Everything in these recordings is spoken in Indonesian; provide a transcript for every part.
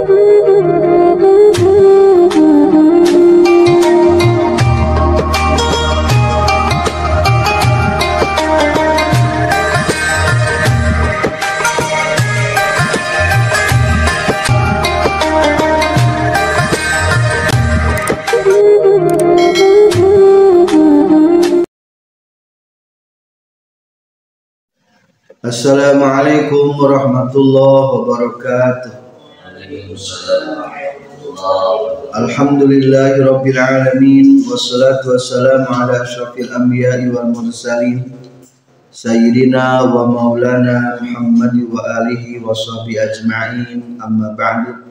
Assalamualaikum warahmatullahi wabarakatuh. Alhamdulillahi rabbil alamin, wassalatu wassalamu ala asyrafil anbiya'i wal mursalin sayyidina wa maulana Muhammad wa alihi wa sahbihi ajma'in, amma ba'du.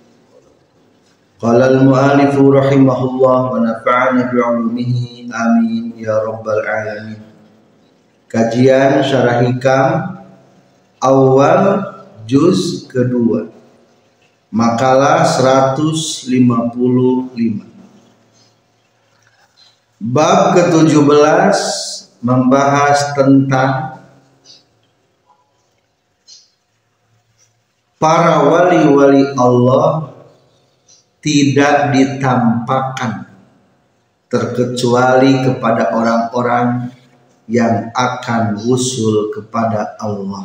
Qala al-mu'alifu rahimahullah wa nafa'ana bi'ulumihi amin ya rabbal alamin. Kajian Syarah Hikam awal juz kedua, makalah 155. Bab ke-17 membahas tentang para wali-wali Allah tidak ditampakkan terkecuali kepada orang-orang yang akan wusul kepada Allah.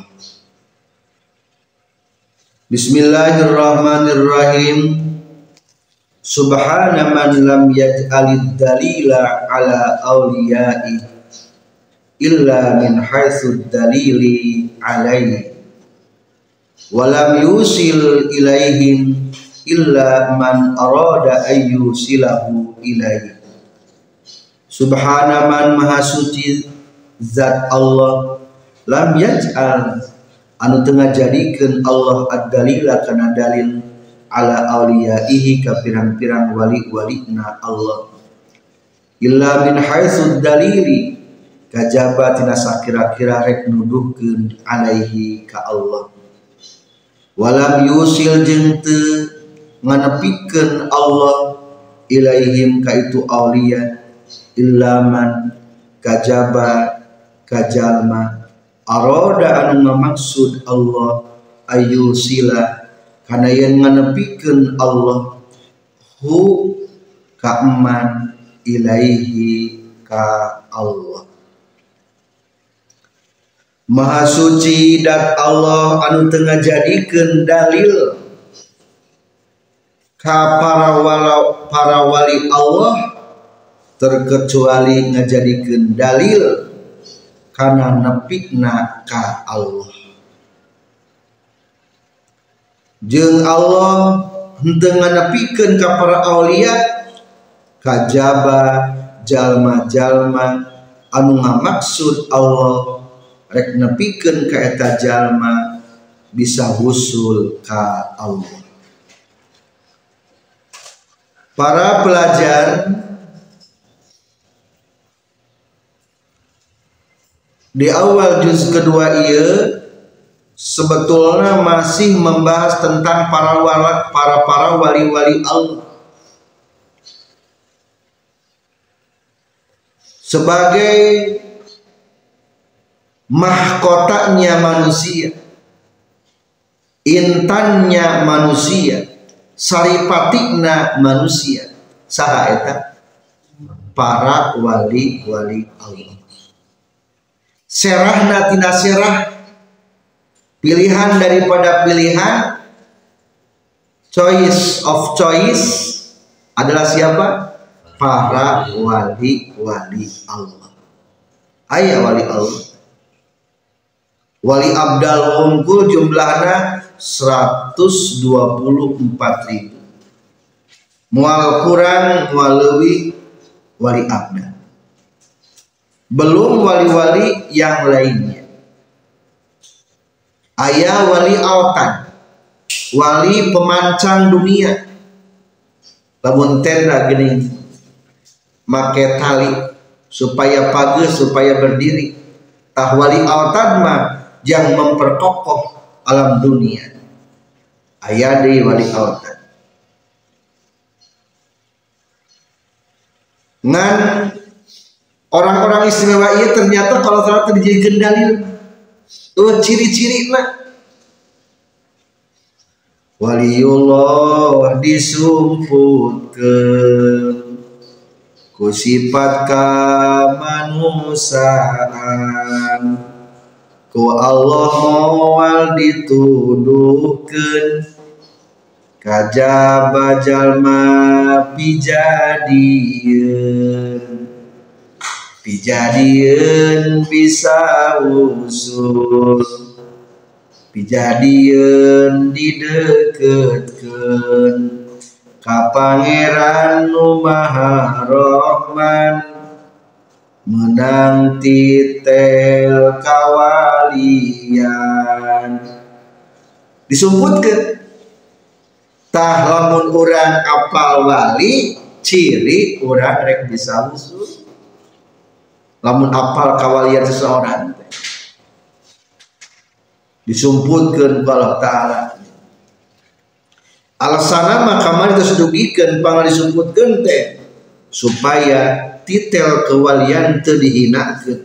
Bismillahirrahmanirrahim. Subhana man lam yaj'alid dalila ala awliya'i illa min haitsu dalili alaihi wa lam yusil ilaihim illa man arada ayyusilahu ilaihi. Subhana man maha suci zat Allah lam yaj'al anu tengah jadikeun Allah ad-dalila kana dalil ala auliyaihi ka pirang-pirang wali-walina Allah illa min haitsu dalili kajaba tina sakira-kira rek nuduhkeun alaihi ka Allah walam yusil jeung teu nganepikeun Allah ilaihim ka itu aulia illa man kajaba kajalma aroda anu ngamaksud Allah ayu sila kana yang nganepikeun Allah hu ka eman ilaihi ka Allah. Maha suci dat Allah anu teu ngajadikeun dalil ka para wali Allah terkecuali ngajadikeun dalil kana nepikna ka Allah. Jeung Allah henteu nganepikeun ka para aulia kajaba jalma-jalma anu ngamaksud Allah rek nepikeun ka eta jalma bisa wusul ka Allah. Para pelajar, di awal juz kedua ieu sebetulnya masih membahas tentang para wali-wali Allah sebagai mahkotanya manusia, intannya manusia, saripatina manusia. Saha eta? Para wali-wali Allah. Serahna tina serah, pilihan daripada pilihan, choice of choice adalah siapa? Para wali-wali Allah. Aya wali Allah. Wali abdal unggul jumlahna 124.000. Mual kurang mual leuwih wali abdal. Belum wali-wali yang lainnya. Aya wali autan, wali pemancang dunia. Lamun tenda geuning make tali supaya pageus, supaya berdiri. Tah wali autan mah yang memperkokoh alam dunia. Aya deui wali autan. Ngan orang-orang istimewa ieu ternyata kalau ternyata dijadikeun dalil. Ciri-ciri nah waliullah disumputkeun ku sifat kamanusaan ku Allah moal dituduhkeun kajaba jalma pijadieun bisa usul pijadieun dideketkeun ka Pangeran nu Maha Rahman menang titel kawalian disumputkeun tah lamun urang apal wali ciri urang rek bisa usul lamun apal kawalian seseorang disumputkeun ku Allah Ta'ala alasana maka mari tos dugikeun pangal disumputkeun teh supaya titel kewalian teu dihinakeun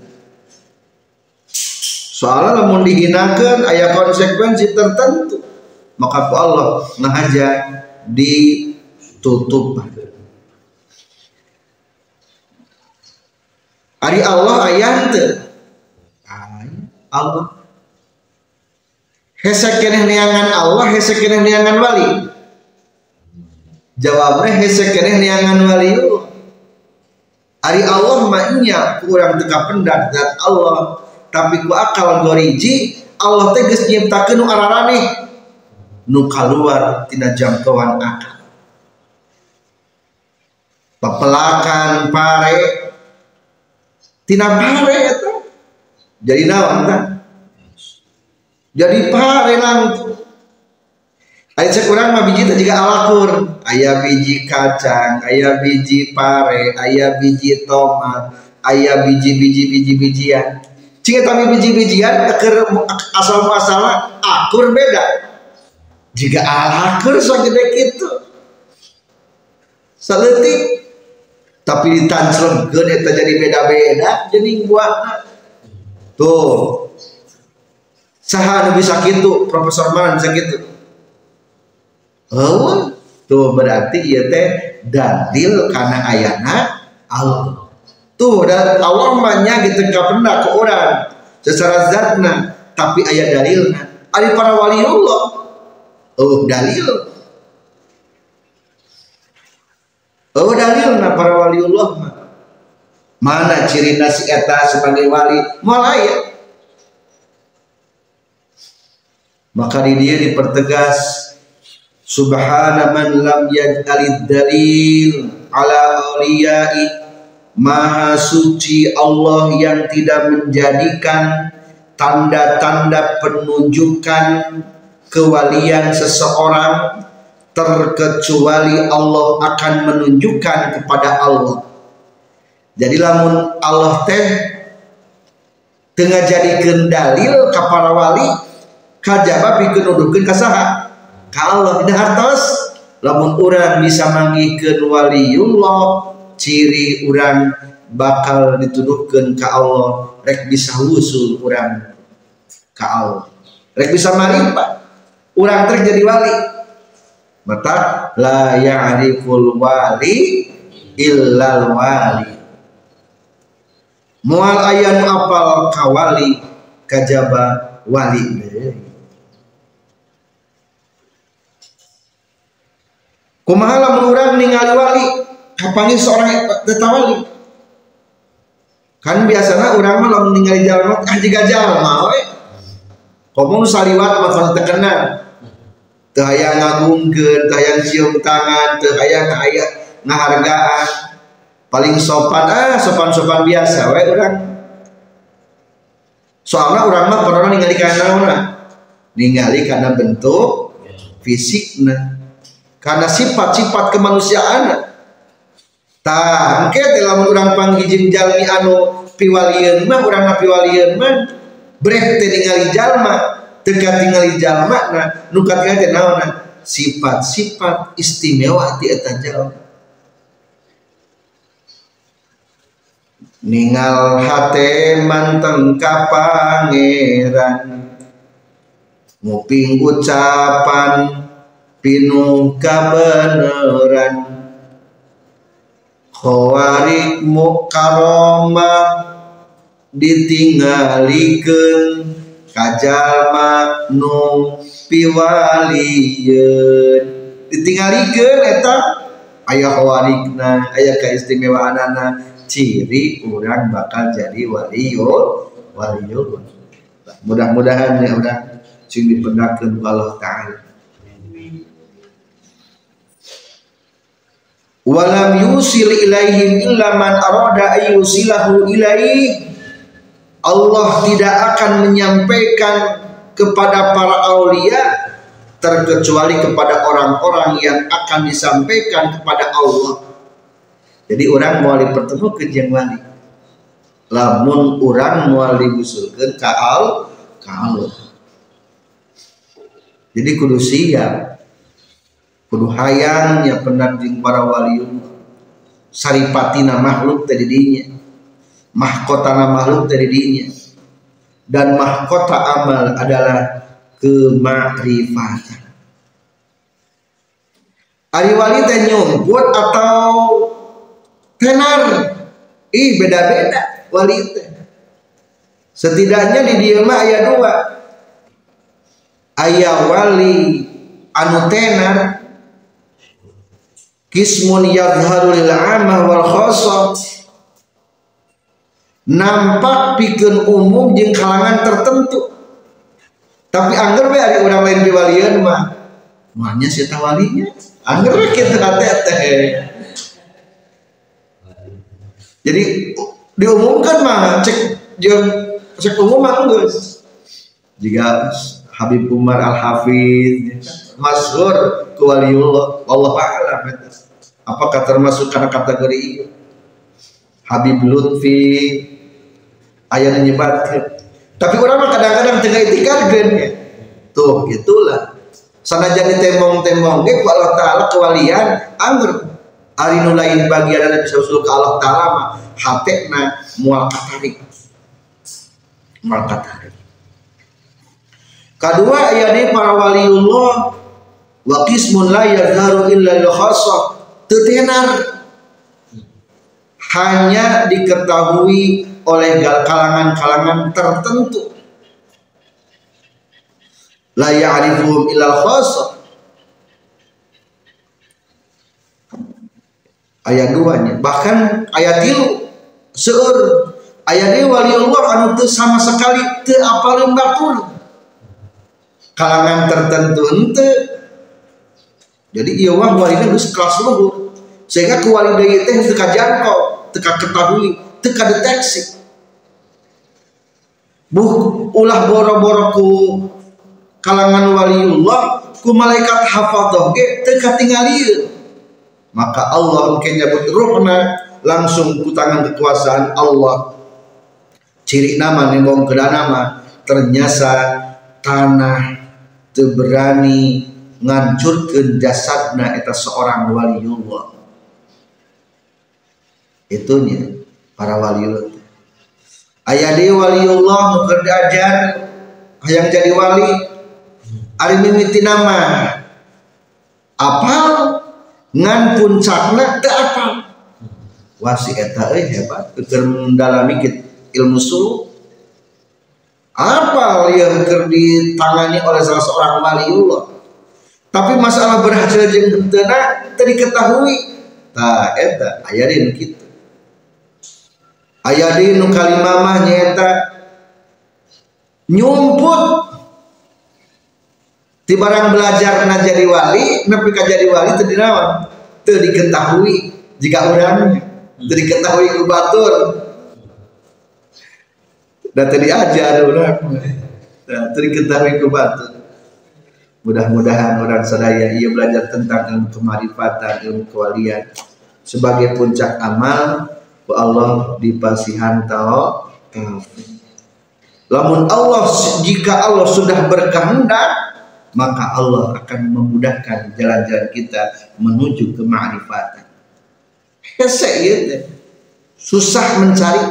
soalnya lamun dihinakeun aya konsekuensi tertentu maka ku Allah ngahaja ditutup ari Allah aya teu Allah hese keneh neangan Allah hese keneh neangan wali jawabnya hese keneh neangan wali ari Allah mah nya kurang teka pendak zat Allah tapi ku akal goriji Allah teh geus nyiptakeun nu araraneh nu kaluar tina jangkauan akal papelakan pare tina pare eta jadi naon tah jadi pare langtu aya sakurang mah biji teh jiga alakur aya biji kacang aya biji pare aya biji tomat aya biji-bijian cing eta biji-bijian keur asal-muasalna akur beda jika alakur sagede kitu saleutik tapi ditancremkeun eta jadi beda-beda jeung buahna tuh saha nu bisa kitu Profesor Manan bisa kitu oh tuh berarti ieu teh dalil kana ayana Allah tuh dan Allah mah nya gitu kapendak ke urang secara zatna tapi aya dalilna ari para waliullah dalilna para waliullah mah mana cirina si eta sebagai wali moal aya maka di dia dipertegas subhana man lam yaj'alid dalil ala awliyai maha suci Allah yang tidak menjadikan tanda-tanda penunjukan kewalian seseorang terkecuali Allah akan menunjukkan kepada Allah jadi lamun Allah teh tengah jadikeun dalil ka para wali kajaba pikeun nuduhkeun ka saha ka Allah tidak hartos lamun urang bisa manggihkeun waliullah ciri urang bakal dituduhkeun ka Allah rek bisa usul urang ka Allah rek bisa marifat urang trek jadi wali mata la ya'riful wali illal wali moal aya nu apal ka wali kajaba wali deui kumaha lamun urang ningali wali kapanggih seorang eta wali kan biasana urang mah lamun ningali jalma jiga jalma we komo saliwat mah teu kenal teu aya ngagungkeun teu aya cium tangan teu aya ngahargaan paling sopan sopan-sopan biasa we urang soalna urang mah pernah ningali kana naonna ningali kana bentuk fisikna karena sifat-sifat kemanusiaan tah engke teh lamun urang panggih jalmi anu piwalieun mah urang piwalieun mah breh teh ningali jalma teu katingali jalmana nu katingali teh naonna sifat-sifat istimewa ti eta jalma ningal hate manteng ka pangeran nguping ucapan pinuh kabeneran khawarik mukarramah ditinggalikeun kajalma nu piwaliyeun ditinggalikeun eta aya khawarikna aya kaistimewaanana ciri urang bakal jadi waliul. Mudah-mudahan ya urang sing dipendakeun Allah taala. Walam yusil ilaihim illa man arada ayyusilahu ilaih. Allah tidak akan menyampaikan kepada para aulia terkecuali kepada orang-orang yang akan disampaikan kepada Allah. Jadi orang mau dipertemukan jeung wali. Lamun orang mau dibusulkeun ka Allah. Jadi kudu siap. Kudu hayang nyapeunna jeung para waliun. Saripatina makhluk tadi dinya. Mahkotana makhluk tadi dinya. Dan mahkota amal adalah kemakrifatan. Ari wali teh nyumput atau tenar? Beda-beda wali teh. Setidaknya di dieu mah aya dua. Aya wali anu tenar kismun yadhharu lil 'amah wal khassah, nampak pikeun umum jeung kalangan tertentu. Tapi angger we ari urang lain diwalieun mah moalnya si eta walinya angger we kitu teh. Jadi diumumkan mah cek umum mah geus. Jika Habib Umar Al-Hafiz masyhur ku waliullah wallahu a'lam apakah termasuk karena kategori itu. Habib Lutfi aya nyebatkeun. Tapi urang mah kadang-kadang teu ngaitikadkeun ya. Tuh gitulah. Sanajan ditembong-tembong ge ku Allah taala kewalian angger ari nu lain bagian bisa usul ke Allah taala mah hatena moal katarik. Kedua ayat para waliullah wa qismun la yadharu illa lil khassah, tetenar hanya diketahui oleh kalangan-kalangan tertentu. La ya'rifuhum illa al khassah. Ayat 2-nya bahkan ayat 3 seueur ayat ieu waliullah anu teu sama sekali teu apaleun batur. Kalangan tertentu henteu. Jadi ieu mah walina geus kelas luhur. Sehingga ku wali deui teh teu kajangkau, teu ketahui, teu kadeteksi. Ulah boro-boro ku kalangan waliullah ku malaikat hafadzah ge teu katingalieun. Maka Allah engke nyebut ruhna langsung ku tangan kekuasaan Allah. Ciri nama nembong kedana mah ternyata tanah teu berani ngancurkeun jasadna eta seorang waliullah. Itunya para waliullah. Aya deui waliullah nu keur diajar hayang jadi wali ari mimitina mah apal ngan puncakna teu apal. Wah si eta euy hebat keur mendalami ilmu suluk. Apal yang keur ditangani oleh salah seorang waliullah. Tapi masalah berhasil jeung henteu teu diketahui. Tah eta aya di kitu. Aya di nu kalimah mah nyaeta nyumput ti barang belajarna jadi wali, nepi ka jadi wali teu dinaon, teu diketahui jika urang teu diketahui ku batur. Dan tadi ajar urang teu diketahui ku batur. Mudah-mudahan orang sadaya ia belajar tentang ilmu kemarifatan, ilmu kewalian sebagai puncak amal ku Allah dipasihan taufik. Lamun Allah jika Allah sudah berkehendak maka Allah akan memudahkan jalan-jalan kita menuju ke ma'rifatan. Hese gitu. Susah mencari.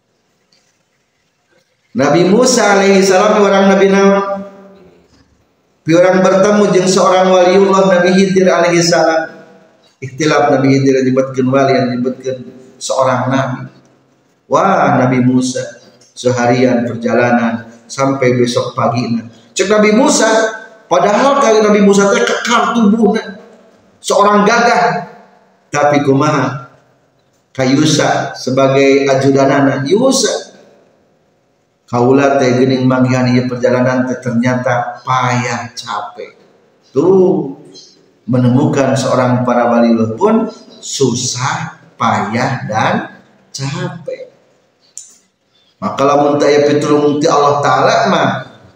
Nabi Musa alaihi salam orang Nabi Nabi Piurang bertemu jeung seorang waliullah Nabi Khidir alaihi salam. Ikhtilaf Nabi Khidir disebutkeun wali, disebutkeun seorang nabi. Wah, Nabi Musa seharian perjalanan sampai besok pagi. Cek Nabi Musa, padahal kali Nabi Musa teh kekar tubuhna, seorang gagah. Tapi kumaha? Kayusa sebagai ajudanana Yusa. Kaula teh geuning manggihan ieu perjalanan teh ternyata payah capek. Tuh menemukan seorang para wali pun susah, payah dan capek. Maka lamun teu pitulung ti Allah taala mah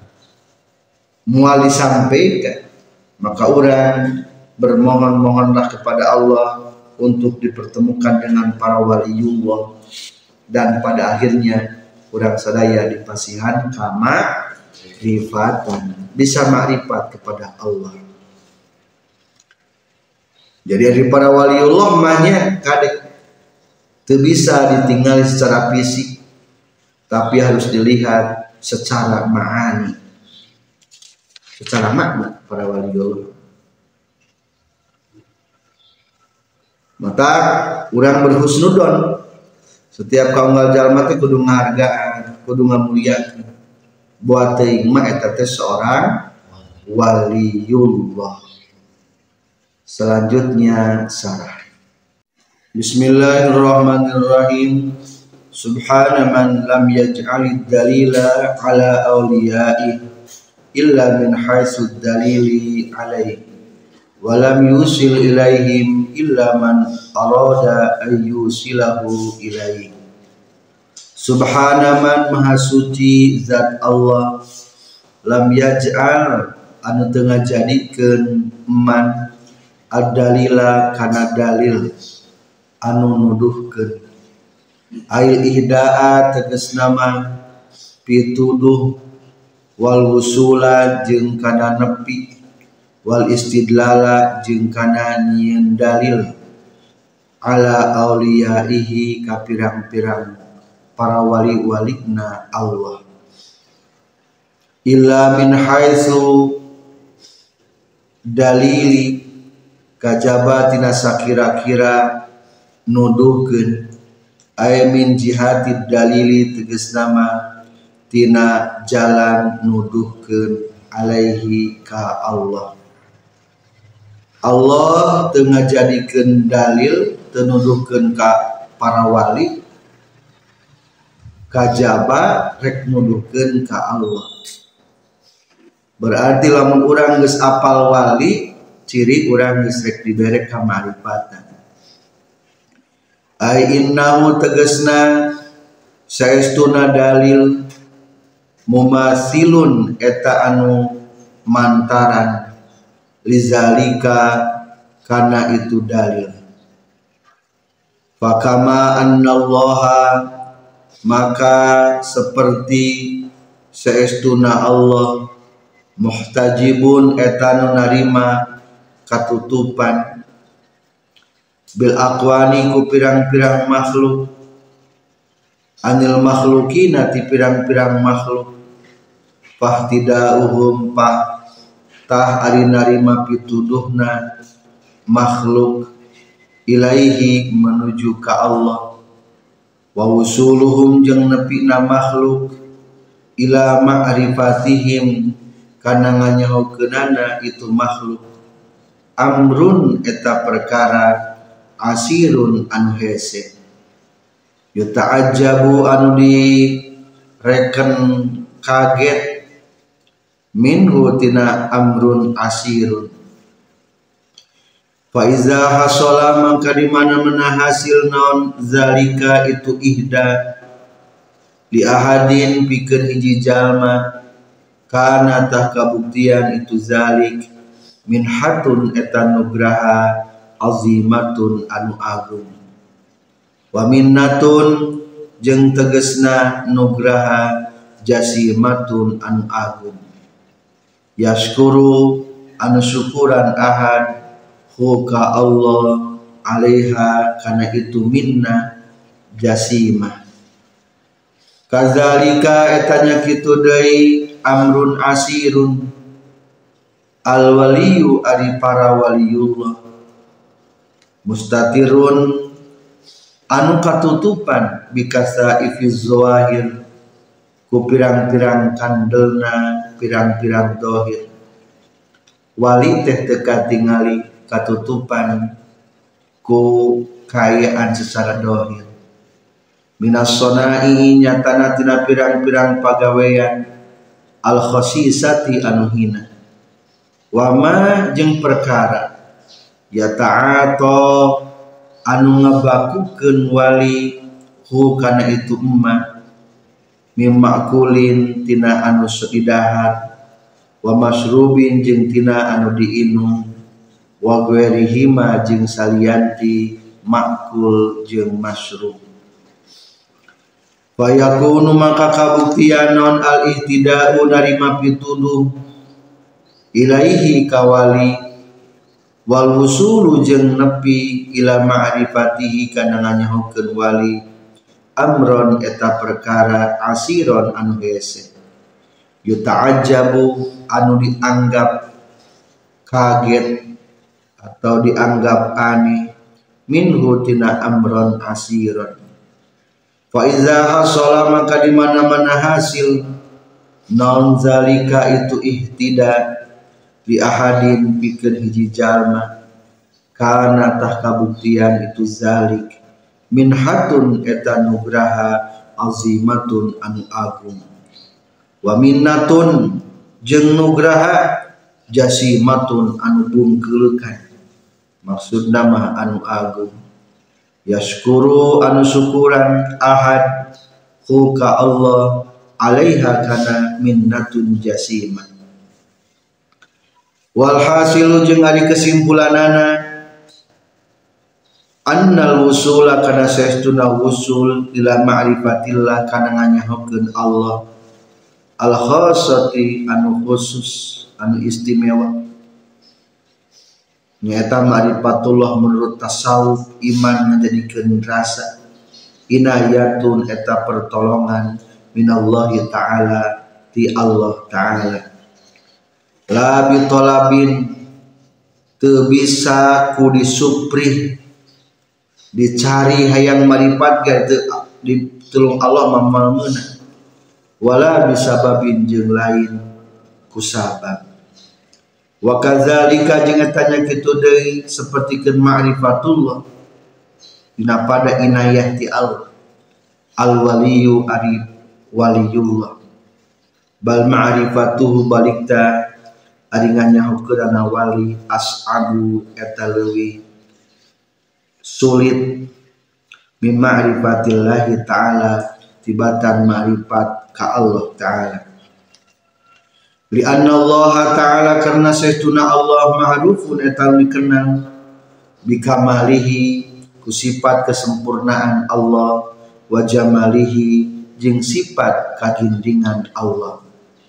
moal disampaikan, maka urang bermohon-mohonlah kepada Allah untuk dipertemukan dengan para waliullah, dan pada akhirnya urang sadaya dipasihan kama rifatan, bisa makrifat kepada Allah. Jadi dari para waliullah mahnya kadek teu bisa ditinggali secara fisik, tapi harus dilihat secara ma'ani, secara makna para waliullah. Maka urang berhusnudon setiap kaunggal jalma teh kudu ngahargaan, kudu ngamuliakeun. Buat teuing mah eta teh seorang waliullah. Selanjutnya sarah. Bismillahirrahmanirrahim. Subhana man lam yaj'alid dalila ala awliya'i illa min haitsu dalili alaihi wa lam yusil ilaihim illa man arada an yusilahu ilaihi. Subhana man maha suci zat Allah lam yaj'al anu teu ngajadikeun man ad-dalila kana dalil anu nuduhkeun, ail ihda'a tegasna mah pituduh, wal wusula jeung kana nepi, wal istidlala jeung kana nyieun dalil, ala auliyaihi ka pirang-pirang para wali-walina Allah. Illa min haitsu dalili kajaba tina sakira-kira nuduhkeun, ay min jihatid dalili tegasna mah tina jalan nuduhkeun alaihi ka Allah. Allah teu ngajadikeun dalil, teu nuduhkeun ka para wali, kajaba rek nuduhkeun ka Allah. Berarti lamun urang geus apal wali, ciri urang geus rek dibere kamarifatan. Ai innahu tegasna saestuna dalil mumasilun eta anu mantaran lizalika kana itu dalil. Fakama annallaha maka seperti saestuna Allah muhtajibun eta nu narima katutupan bil aqwani ku pirang-pirang makhluk, anil makhlukina ti pirang-pirang makhluk, fahtidauhum tah ari narima pituduhna makhluk ilaihi menuju ka Allah, wa usuluhum jeung nepina makhluk ila ma'rifatihim kana nganyahokeunana itu makhluk, amrun eta perkara asirun anu hese, yuta'ajjabu anu direken kaget minhu tina amrun asirun. Fa iza hasala mangka di mana-mana hasil naon zalika itu ihda li ahadin pikeun hiji jalma, kana tah kabuktian itu zalik min hatun eta nugraha azimatun anu agung, wa minnatun jeung tegesna nugraha jasimatun anu agung, yashkuru anu syukuran ahad hu ka Allah alaiha kana itu minna jasimah. Kadzalika etanya kitu deui amrun asirun al waliyu ari para waliullah mustatirun anu katutupan bikasa ifiz zawahir ku pirang-pirang kandelna pirang-pirang dohir. Wali teh teka tingali katutupan ku kayaan secara dohir. Minas sonai nyatana tina pirang-pirang pagawean al khosisati anu hina. Wama jeung perkara ya ta'ato anu ngabakukeun wali hu kana itu emak mimmakulin tina anu sedidahar wa masrubin jeung tina anu diinum wa ghairihima jeung salianti makul jeung masrub. Fayakunu maka kabuktian non al ihtida'u narima pituduh ilaihi kawali wal wusulu jeung nepi ila ma'rifatihi kana nganyahokeun wali amron eta perkara asiron anu hese yuta'ajjabu anu dianggap kaget atau dianggap aneh minhu tina amron asiron. Fa iza hasala maka di mana-mana hasil non zalika itu ihtida li ahadin pikeun hiji jalma kana tah kabuktian itu zalik minhatun eta nugraha azimatun anu agung wa minnatun jeung nugraha jasimatun anu bungkeulkan maksudna mah anu agung. Yashkuru anu syukuran ahad hu ka Allah alaiha kana minnatun jasimah. Walhasilu jeung ari kesimpulanana annal wusula kana saestuna wusul ila ma'rifatillah kana nganyahokeun Allah al khassati anu khusus anu istimewa nyata ma'rifatullah menurut tasawuf iman menjadikan rasa inayatun eta pertolongan minallahi ta'ala ti Allah ta'ala la bitolabin teu bisa ku disuprih dicari hayang marifat ga teu ditulung Allah mamalmeuna wala bisababin jeung lain ku sabab. Wa kadzalika jeung tanya kitu deui sapertikeun ma'rifatullah dina pada inayah ti Allah al waliyu ari waliyullah bal ma'rifatuhu balikta ari nganyahokeun wali as'abu eta leuwih sulit min ma'rifatillahi ta'ala tibatan ma'rifat ka Allah ta'ala. Li anna Allah ta'ala karna saestuna Allah ma'rufun eta dikenal bikamalihi ku sifat kesempurnaan Allah wa jamalihi jeung sifat kagindingan Allah.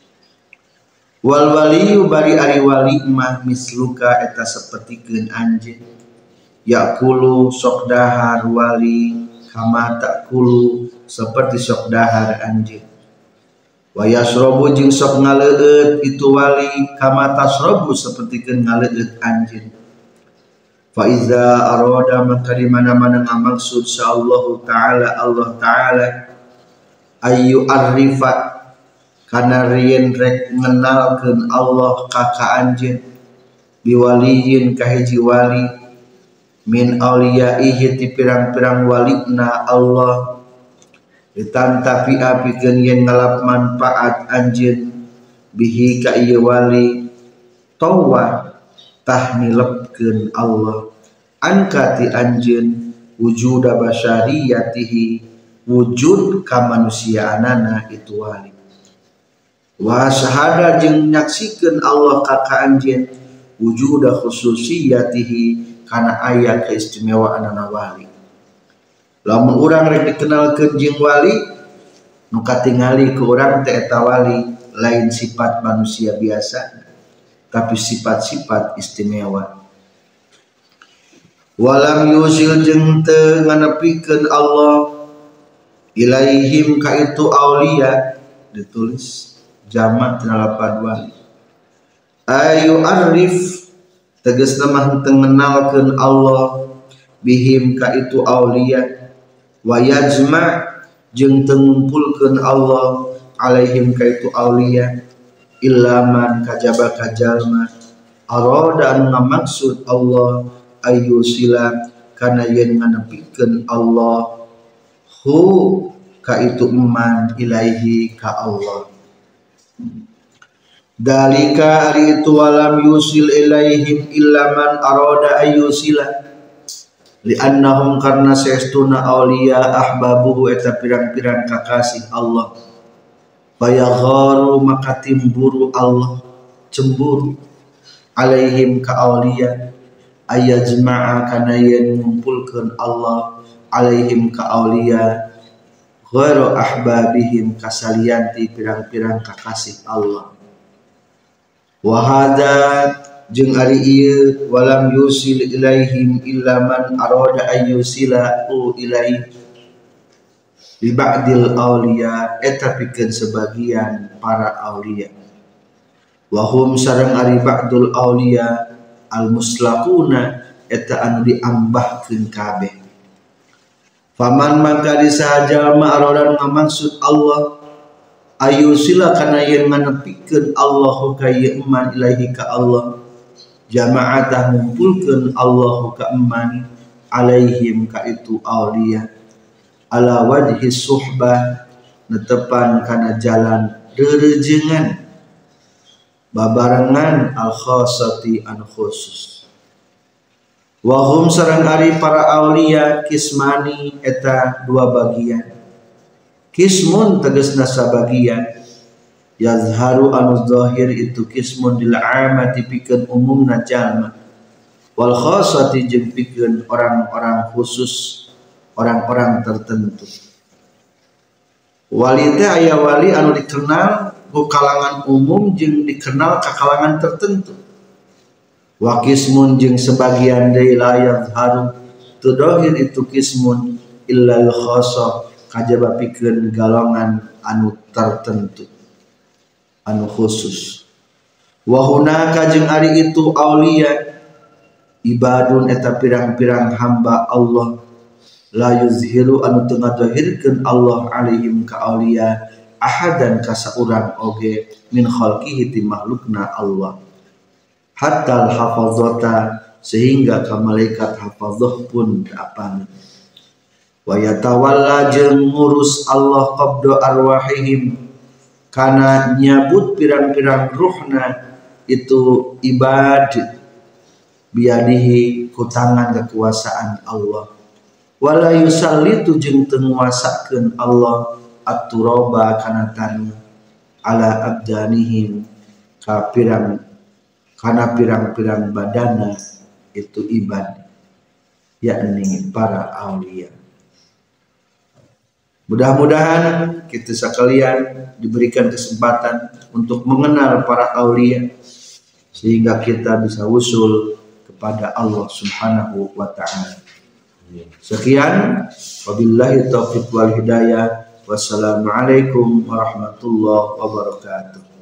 Wal waliyu bari ari wali mah misluka eta sapertikeun anjeun yakulu sok dahar wali kama takulu seperti sok dahar anjeun. Wa yasrobu jeung sok ngaleueut itu wali kama tasrobu sapertikeun ngaleueut anjeun. Fa iza arada maka di mana-mana ngamaksud sa'allahu ta'ala Allah ta'ala ayu arrifa kana rieun rek ngenalkeun Allah ka anjeun biwaliyin ka hiji wali min auliyaihi ti pirang-pirang walina Allah ditantapi apikeun yen ngalap manfaat anjeun bihi ka ieu wali tawa tah nilepkeun Allah angkati anjeun wujuda basyariyatihi wujud kamanusiaanana itu wali wa syahada jeung nyaksikeun Allah ka anjeun wujuda khususiyatihi kana aya keistimewaanana wali. Lamun urang rek dikenalkeun jeung wali nu katingali ku urang teh eta wali lain sifat manusia biasa tapi sifat-sifat istimewa. Walam yusil jeung teu nganepikeun Allah ilaihim ka itu aulia ditulis jamak tina lapan wali ayu arif tegasna mah tengenalkeun Allah bihim ka itu aulia wa yajma' jeung tengumpulkeun Allah alaihim ka itu aulia illa man kajaba kajalma arada anu ngamaksud Allah ayyusila kana yen nganepikeun Allah hu ka itu iman ilaihi ka Allah. Dalika ari itu walam yusil ilaihim illa man arada ayyusila li'annahum karna saestuna aulia ahbabuhu eta pirang-pirang kakasih Allah bayagharu maka timburu Allah cemburu alaihim ka aulia ayajma'a kana yen ngumpulkeun Allah alaihim ka aulia ghairu ahbabihim kasalianti pirang-pirang kakasih Allah. Wa hada jeung ari ieu walam yusil ilaihim illa man arada ayyusila ilaihi li ba'dil aulia eta pikeun sebagian para aulia wa hum sareng ari ba'dul aulia al muslaquna eta anu diambahkeun kabeh. Faman maka disahajal ma'arodan ngamaksud Allah ayusila kana yen nganepikeun Allahu ka ieu iman ilahi ka Allah jama'atah ngumpulkeun Allahu ka iman alaihim ka itu aulia ala wajhi suhbah netepan kana jalan reurejengan babarengan al khassati an khusus. Wahum sareng ari para aulia kismani eta dua bagian. Kismun tegasna sabagian yazharu anu zahir itu kismun lil amati pikeun umumna jalma wal khassati jeung pikeun orang-orang khusus orang-orang tertentu. Wali teh aya wali anu dikenal ku kalangan umum jeung dikenal ka kalangan tertentu. Wa kismun jeung sebagian deui la yazharu tu dohir itu kismun illal khassa kajaba pikeun galongan anu tertentu anu khusus. Wa hunaka jeung ari itu aulia ibadun eta pirang-pirang hamba Allah la yuzhiru anu teu ngadahirkeun Allah alaihim ka aulia ahadan ka saurang oge min khalqihi ti makhlukna Allah hatta al-hafazata sehingga ka malaikat hafazah pun apana. Wa yatawalla jeung ngurus Allah qabda arwahihim kana nyabut pirang-pirang ruhna itu ibad biadihi ku tangan kekuasaan Allah. Wala yusallitu jeung teu nguasakeun Allah at-turaba kana tanah ala abdanihim ka karena pirang-pirang badana itu ibad yakni para aulia. Mudah-mudahan kita sekalian diberikan kesempatan untuk mengenal para aulia sehingga kita bisa usul kepada Allah Subhanahu wa ta'ala. Sekian, wabillahi taufiq wal hidayah. Wassalamualaikum warahmatullahi wabarakatuh.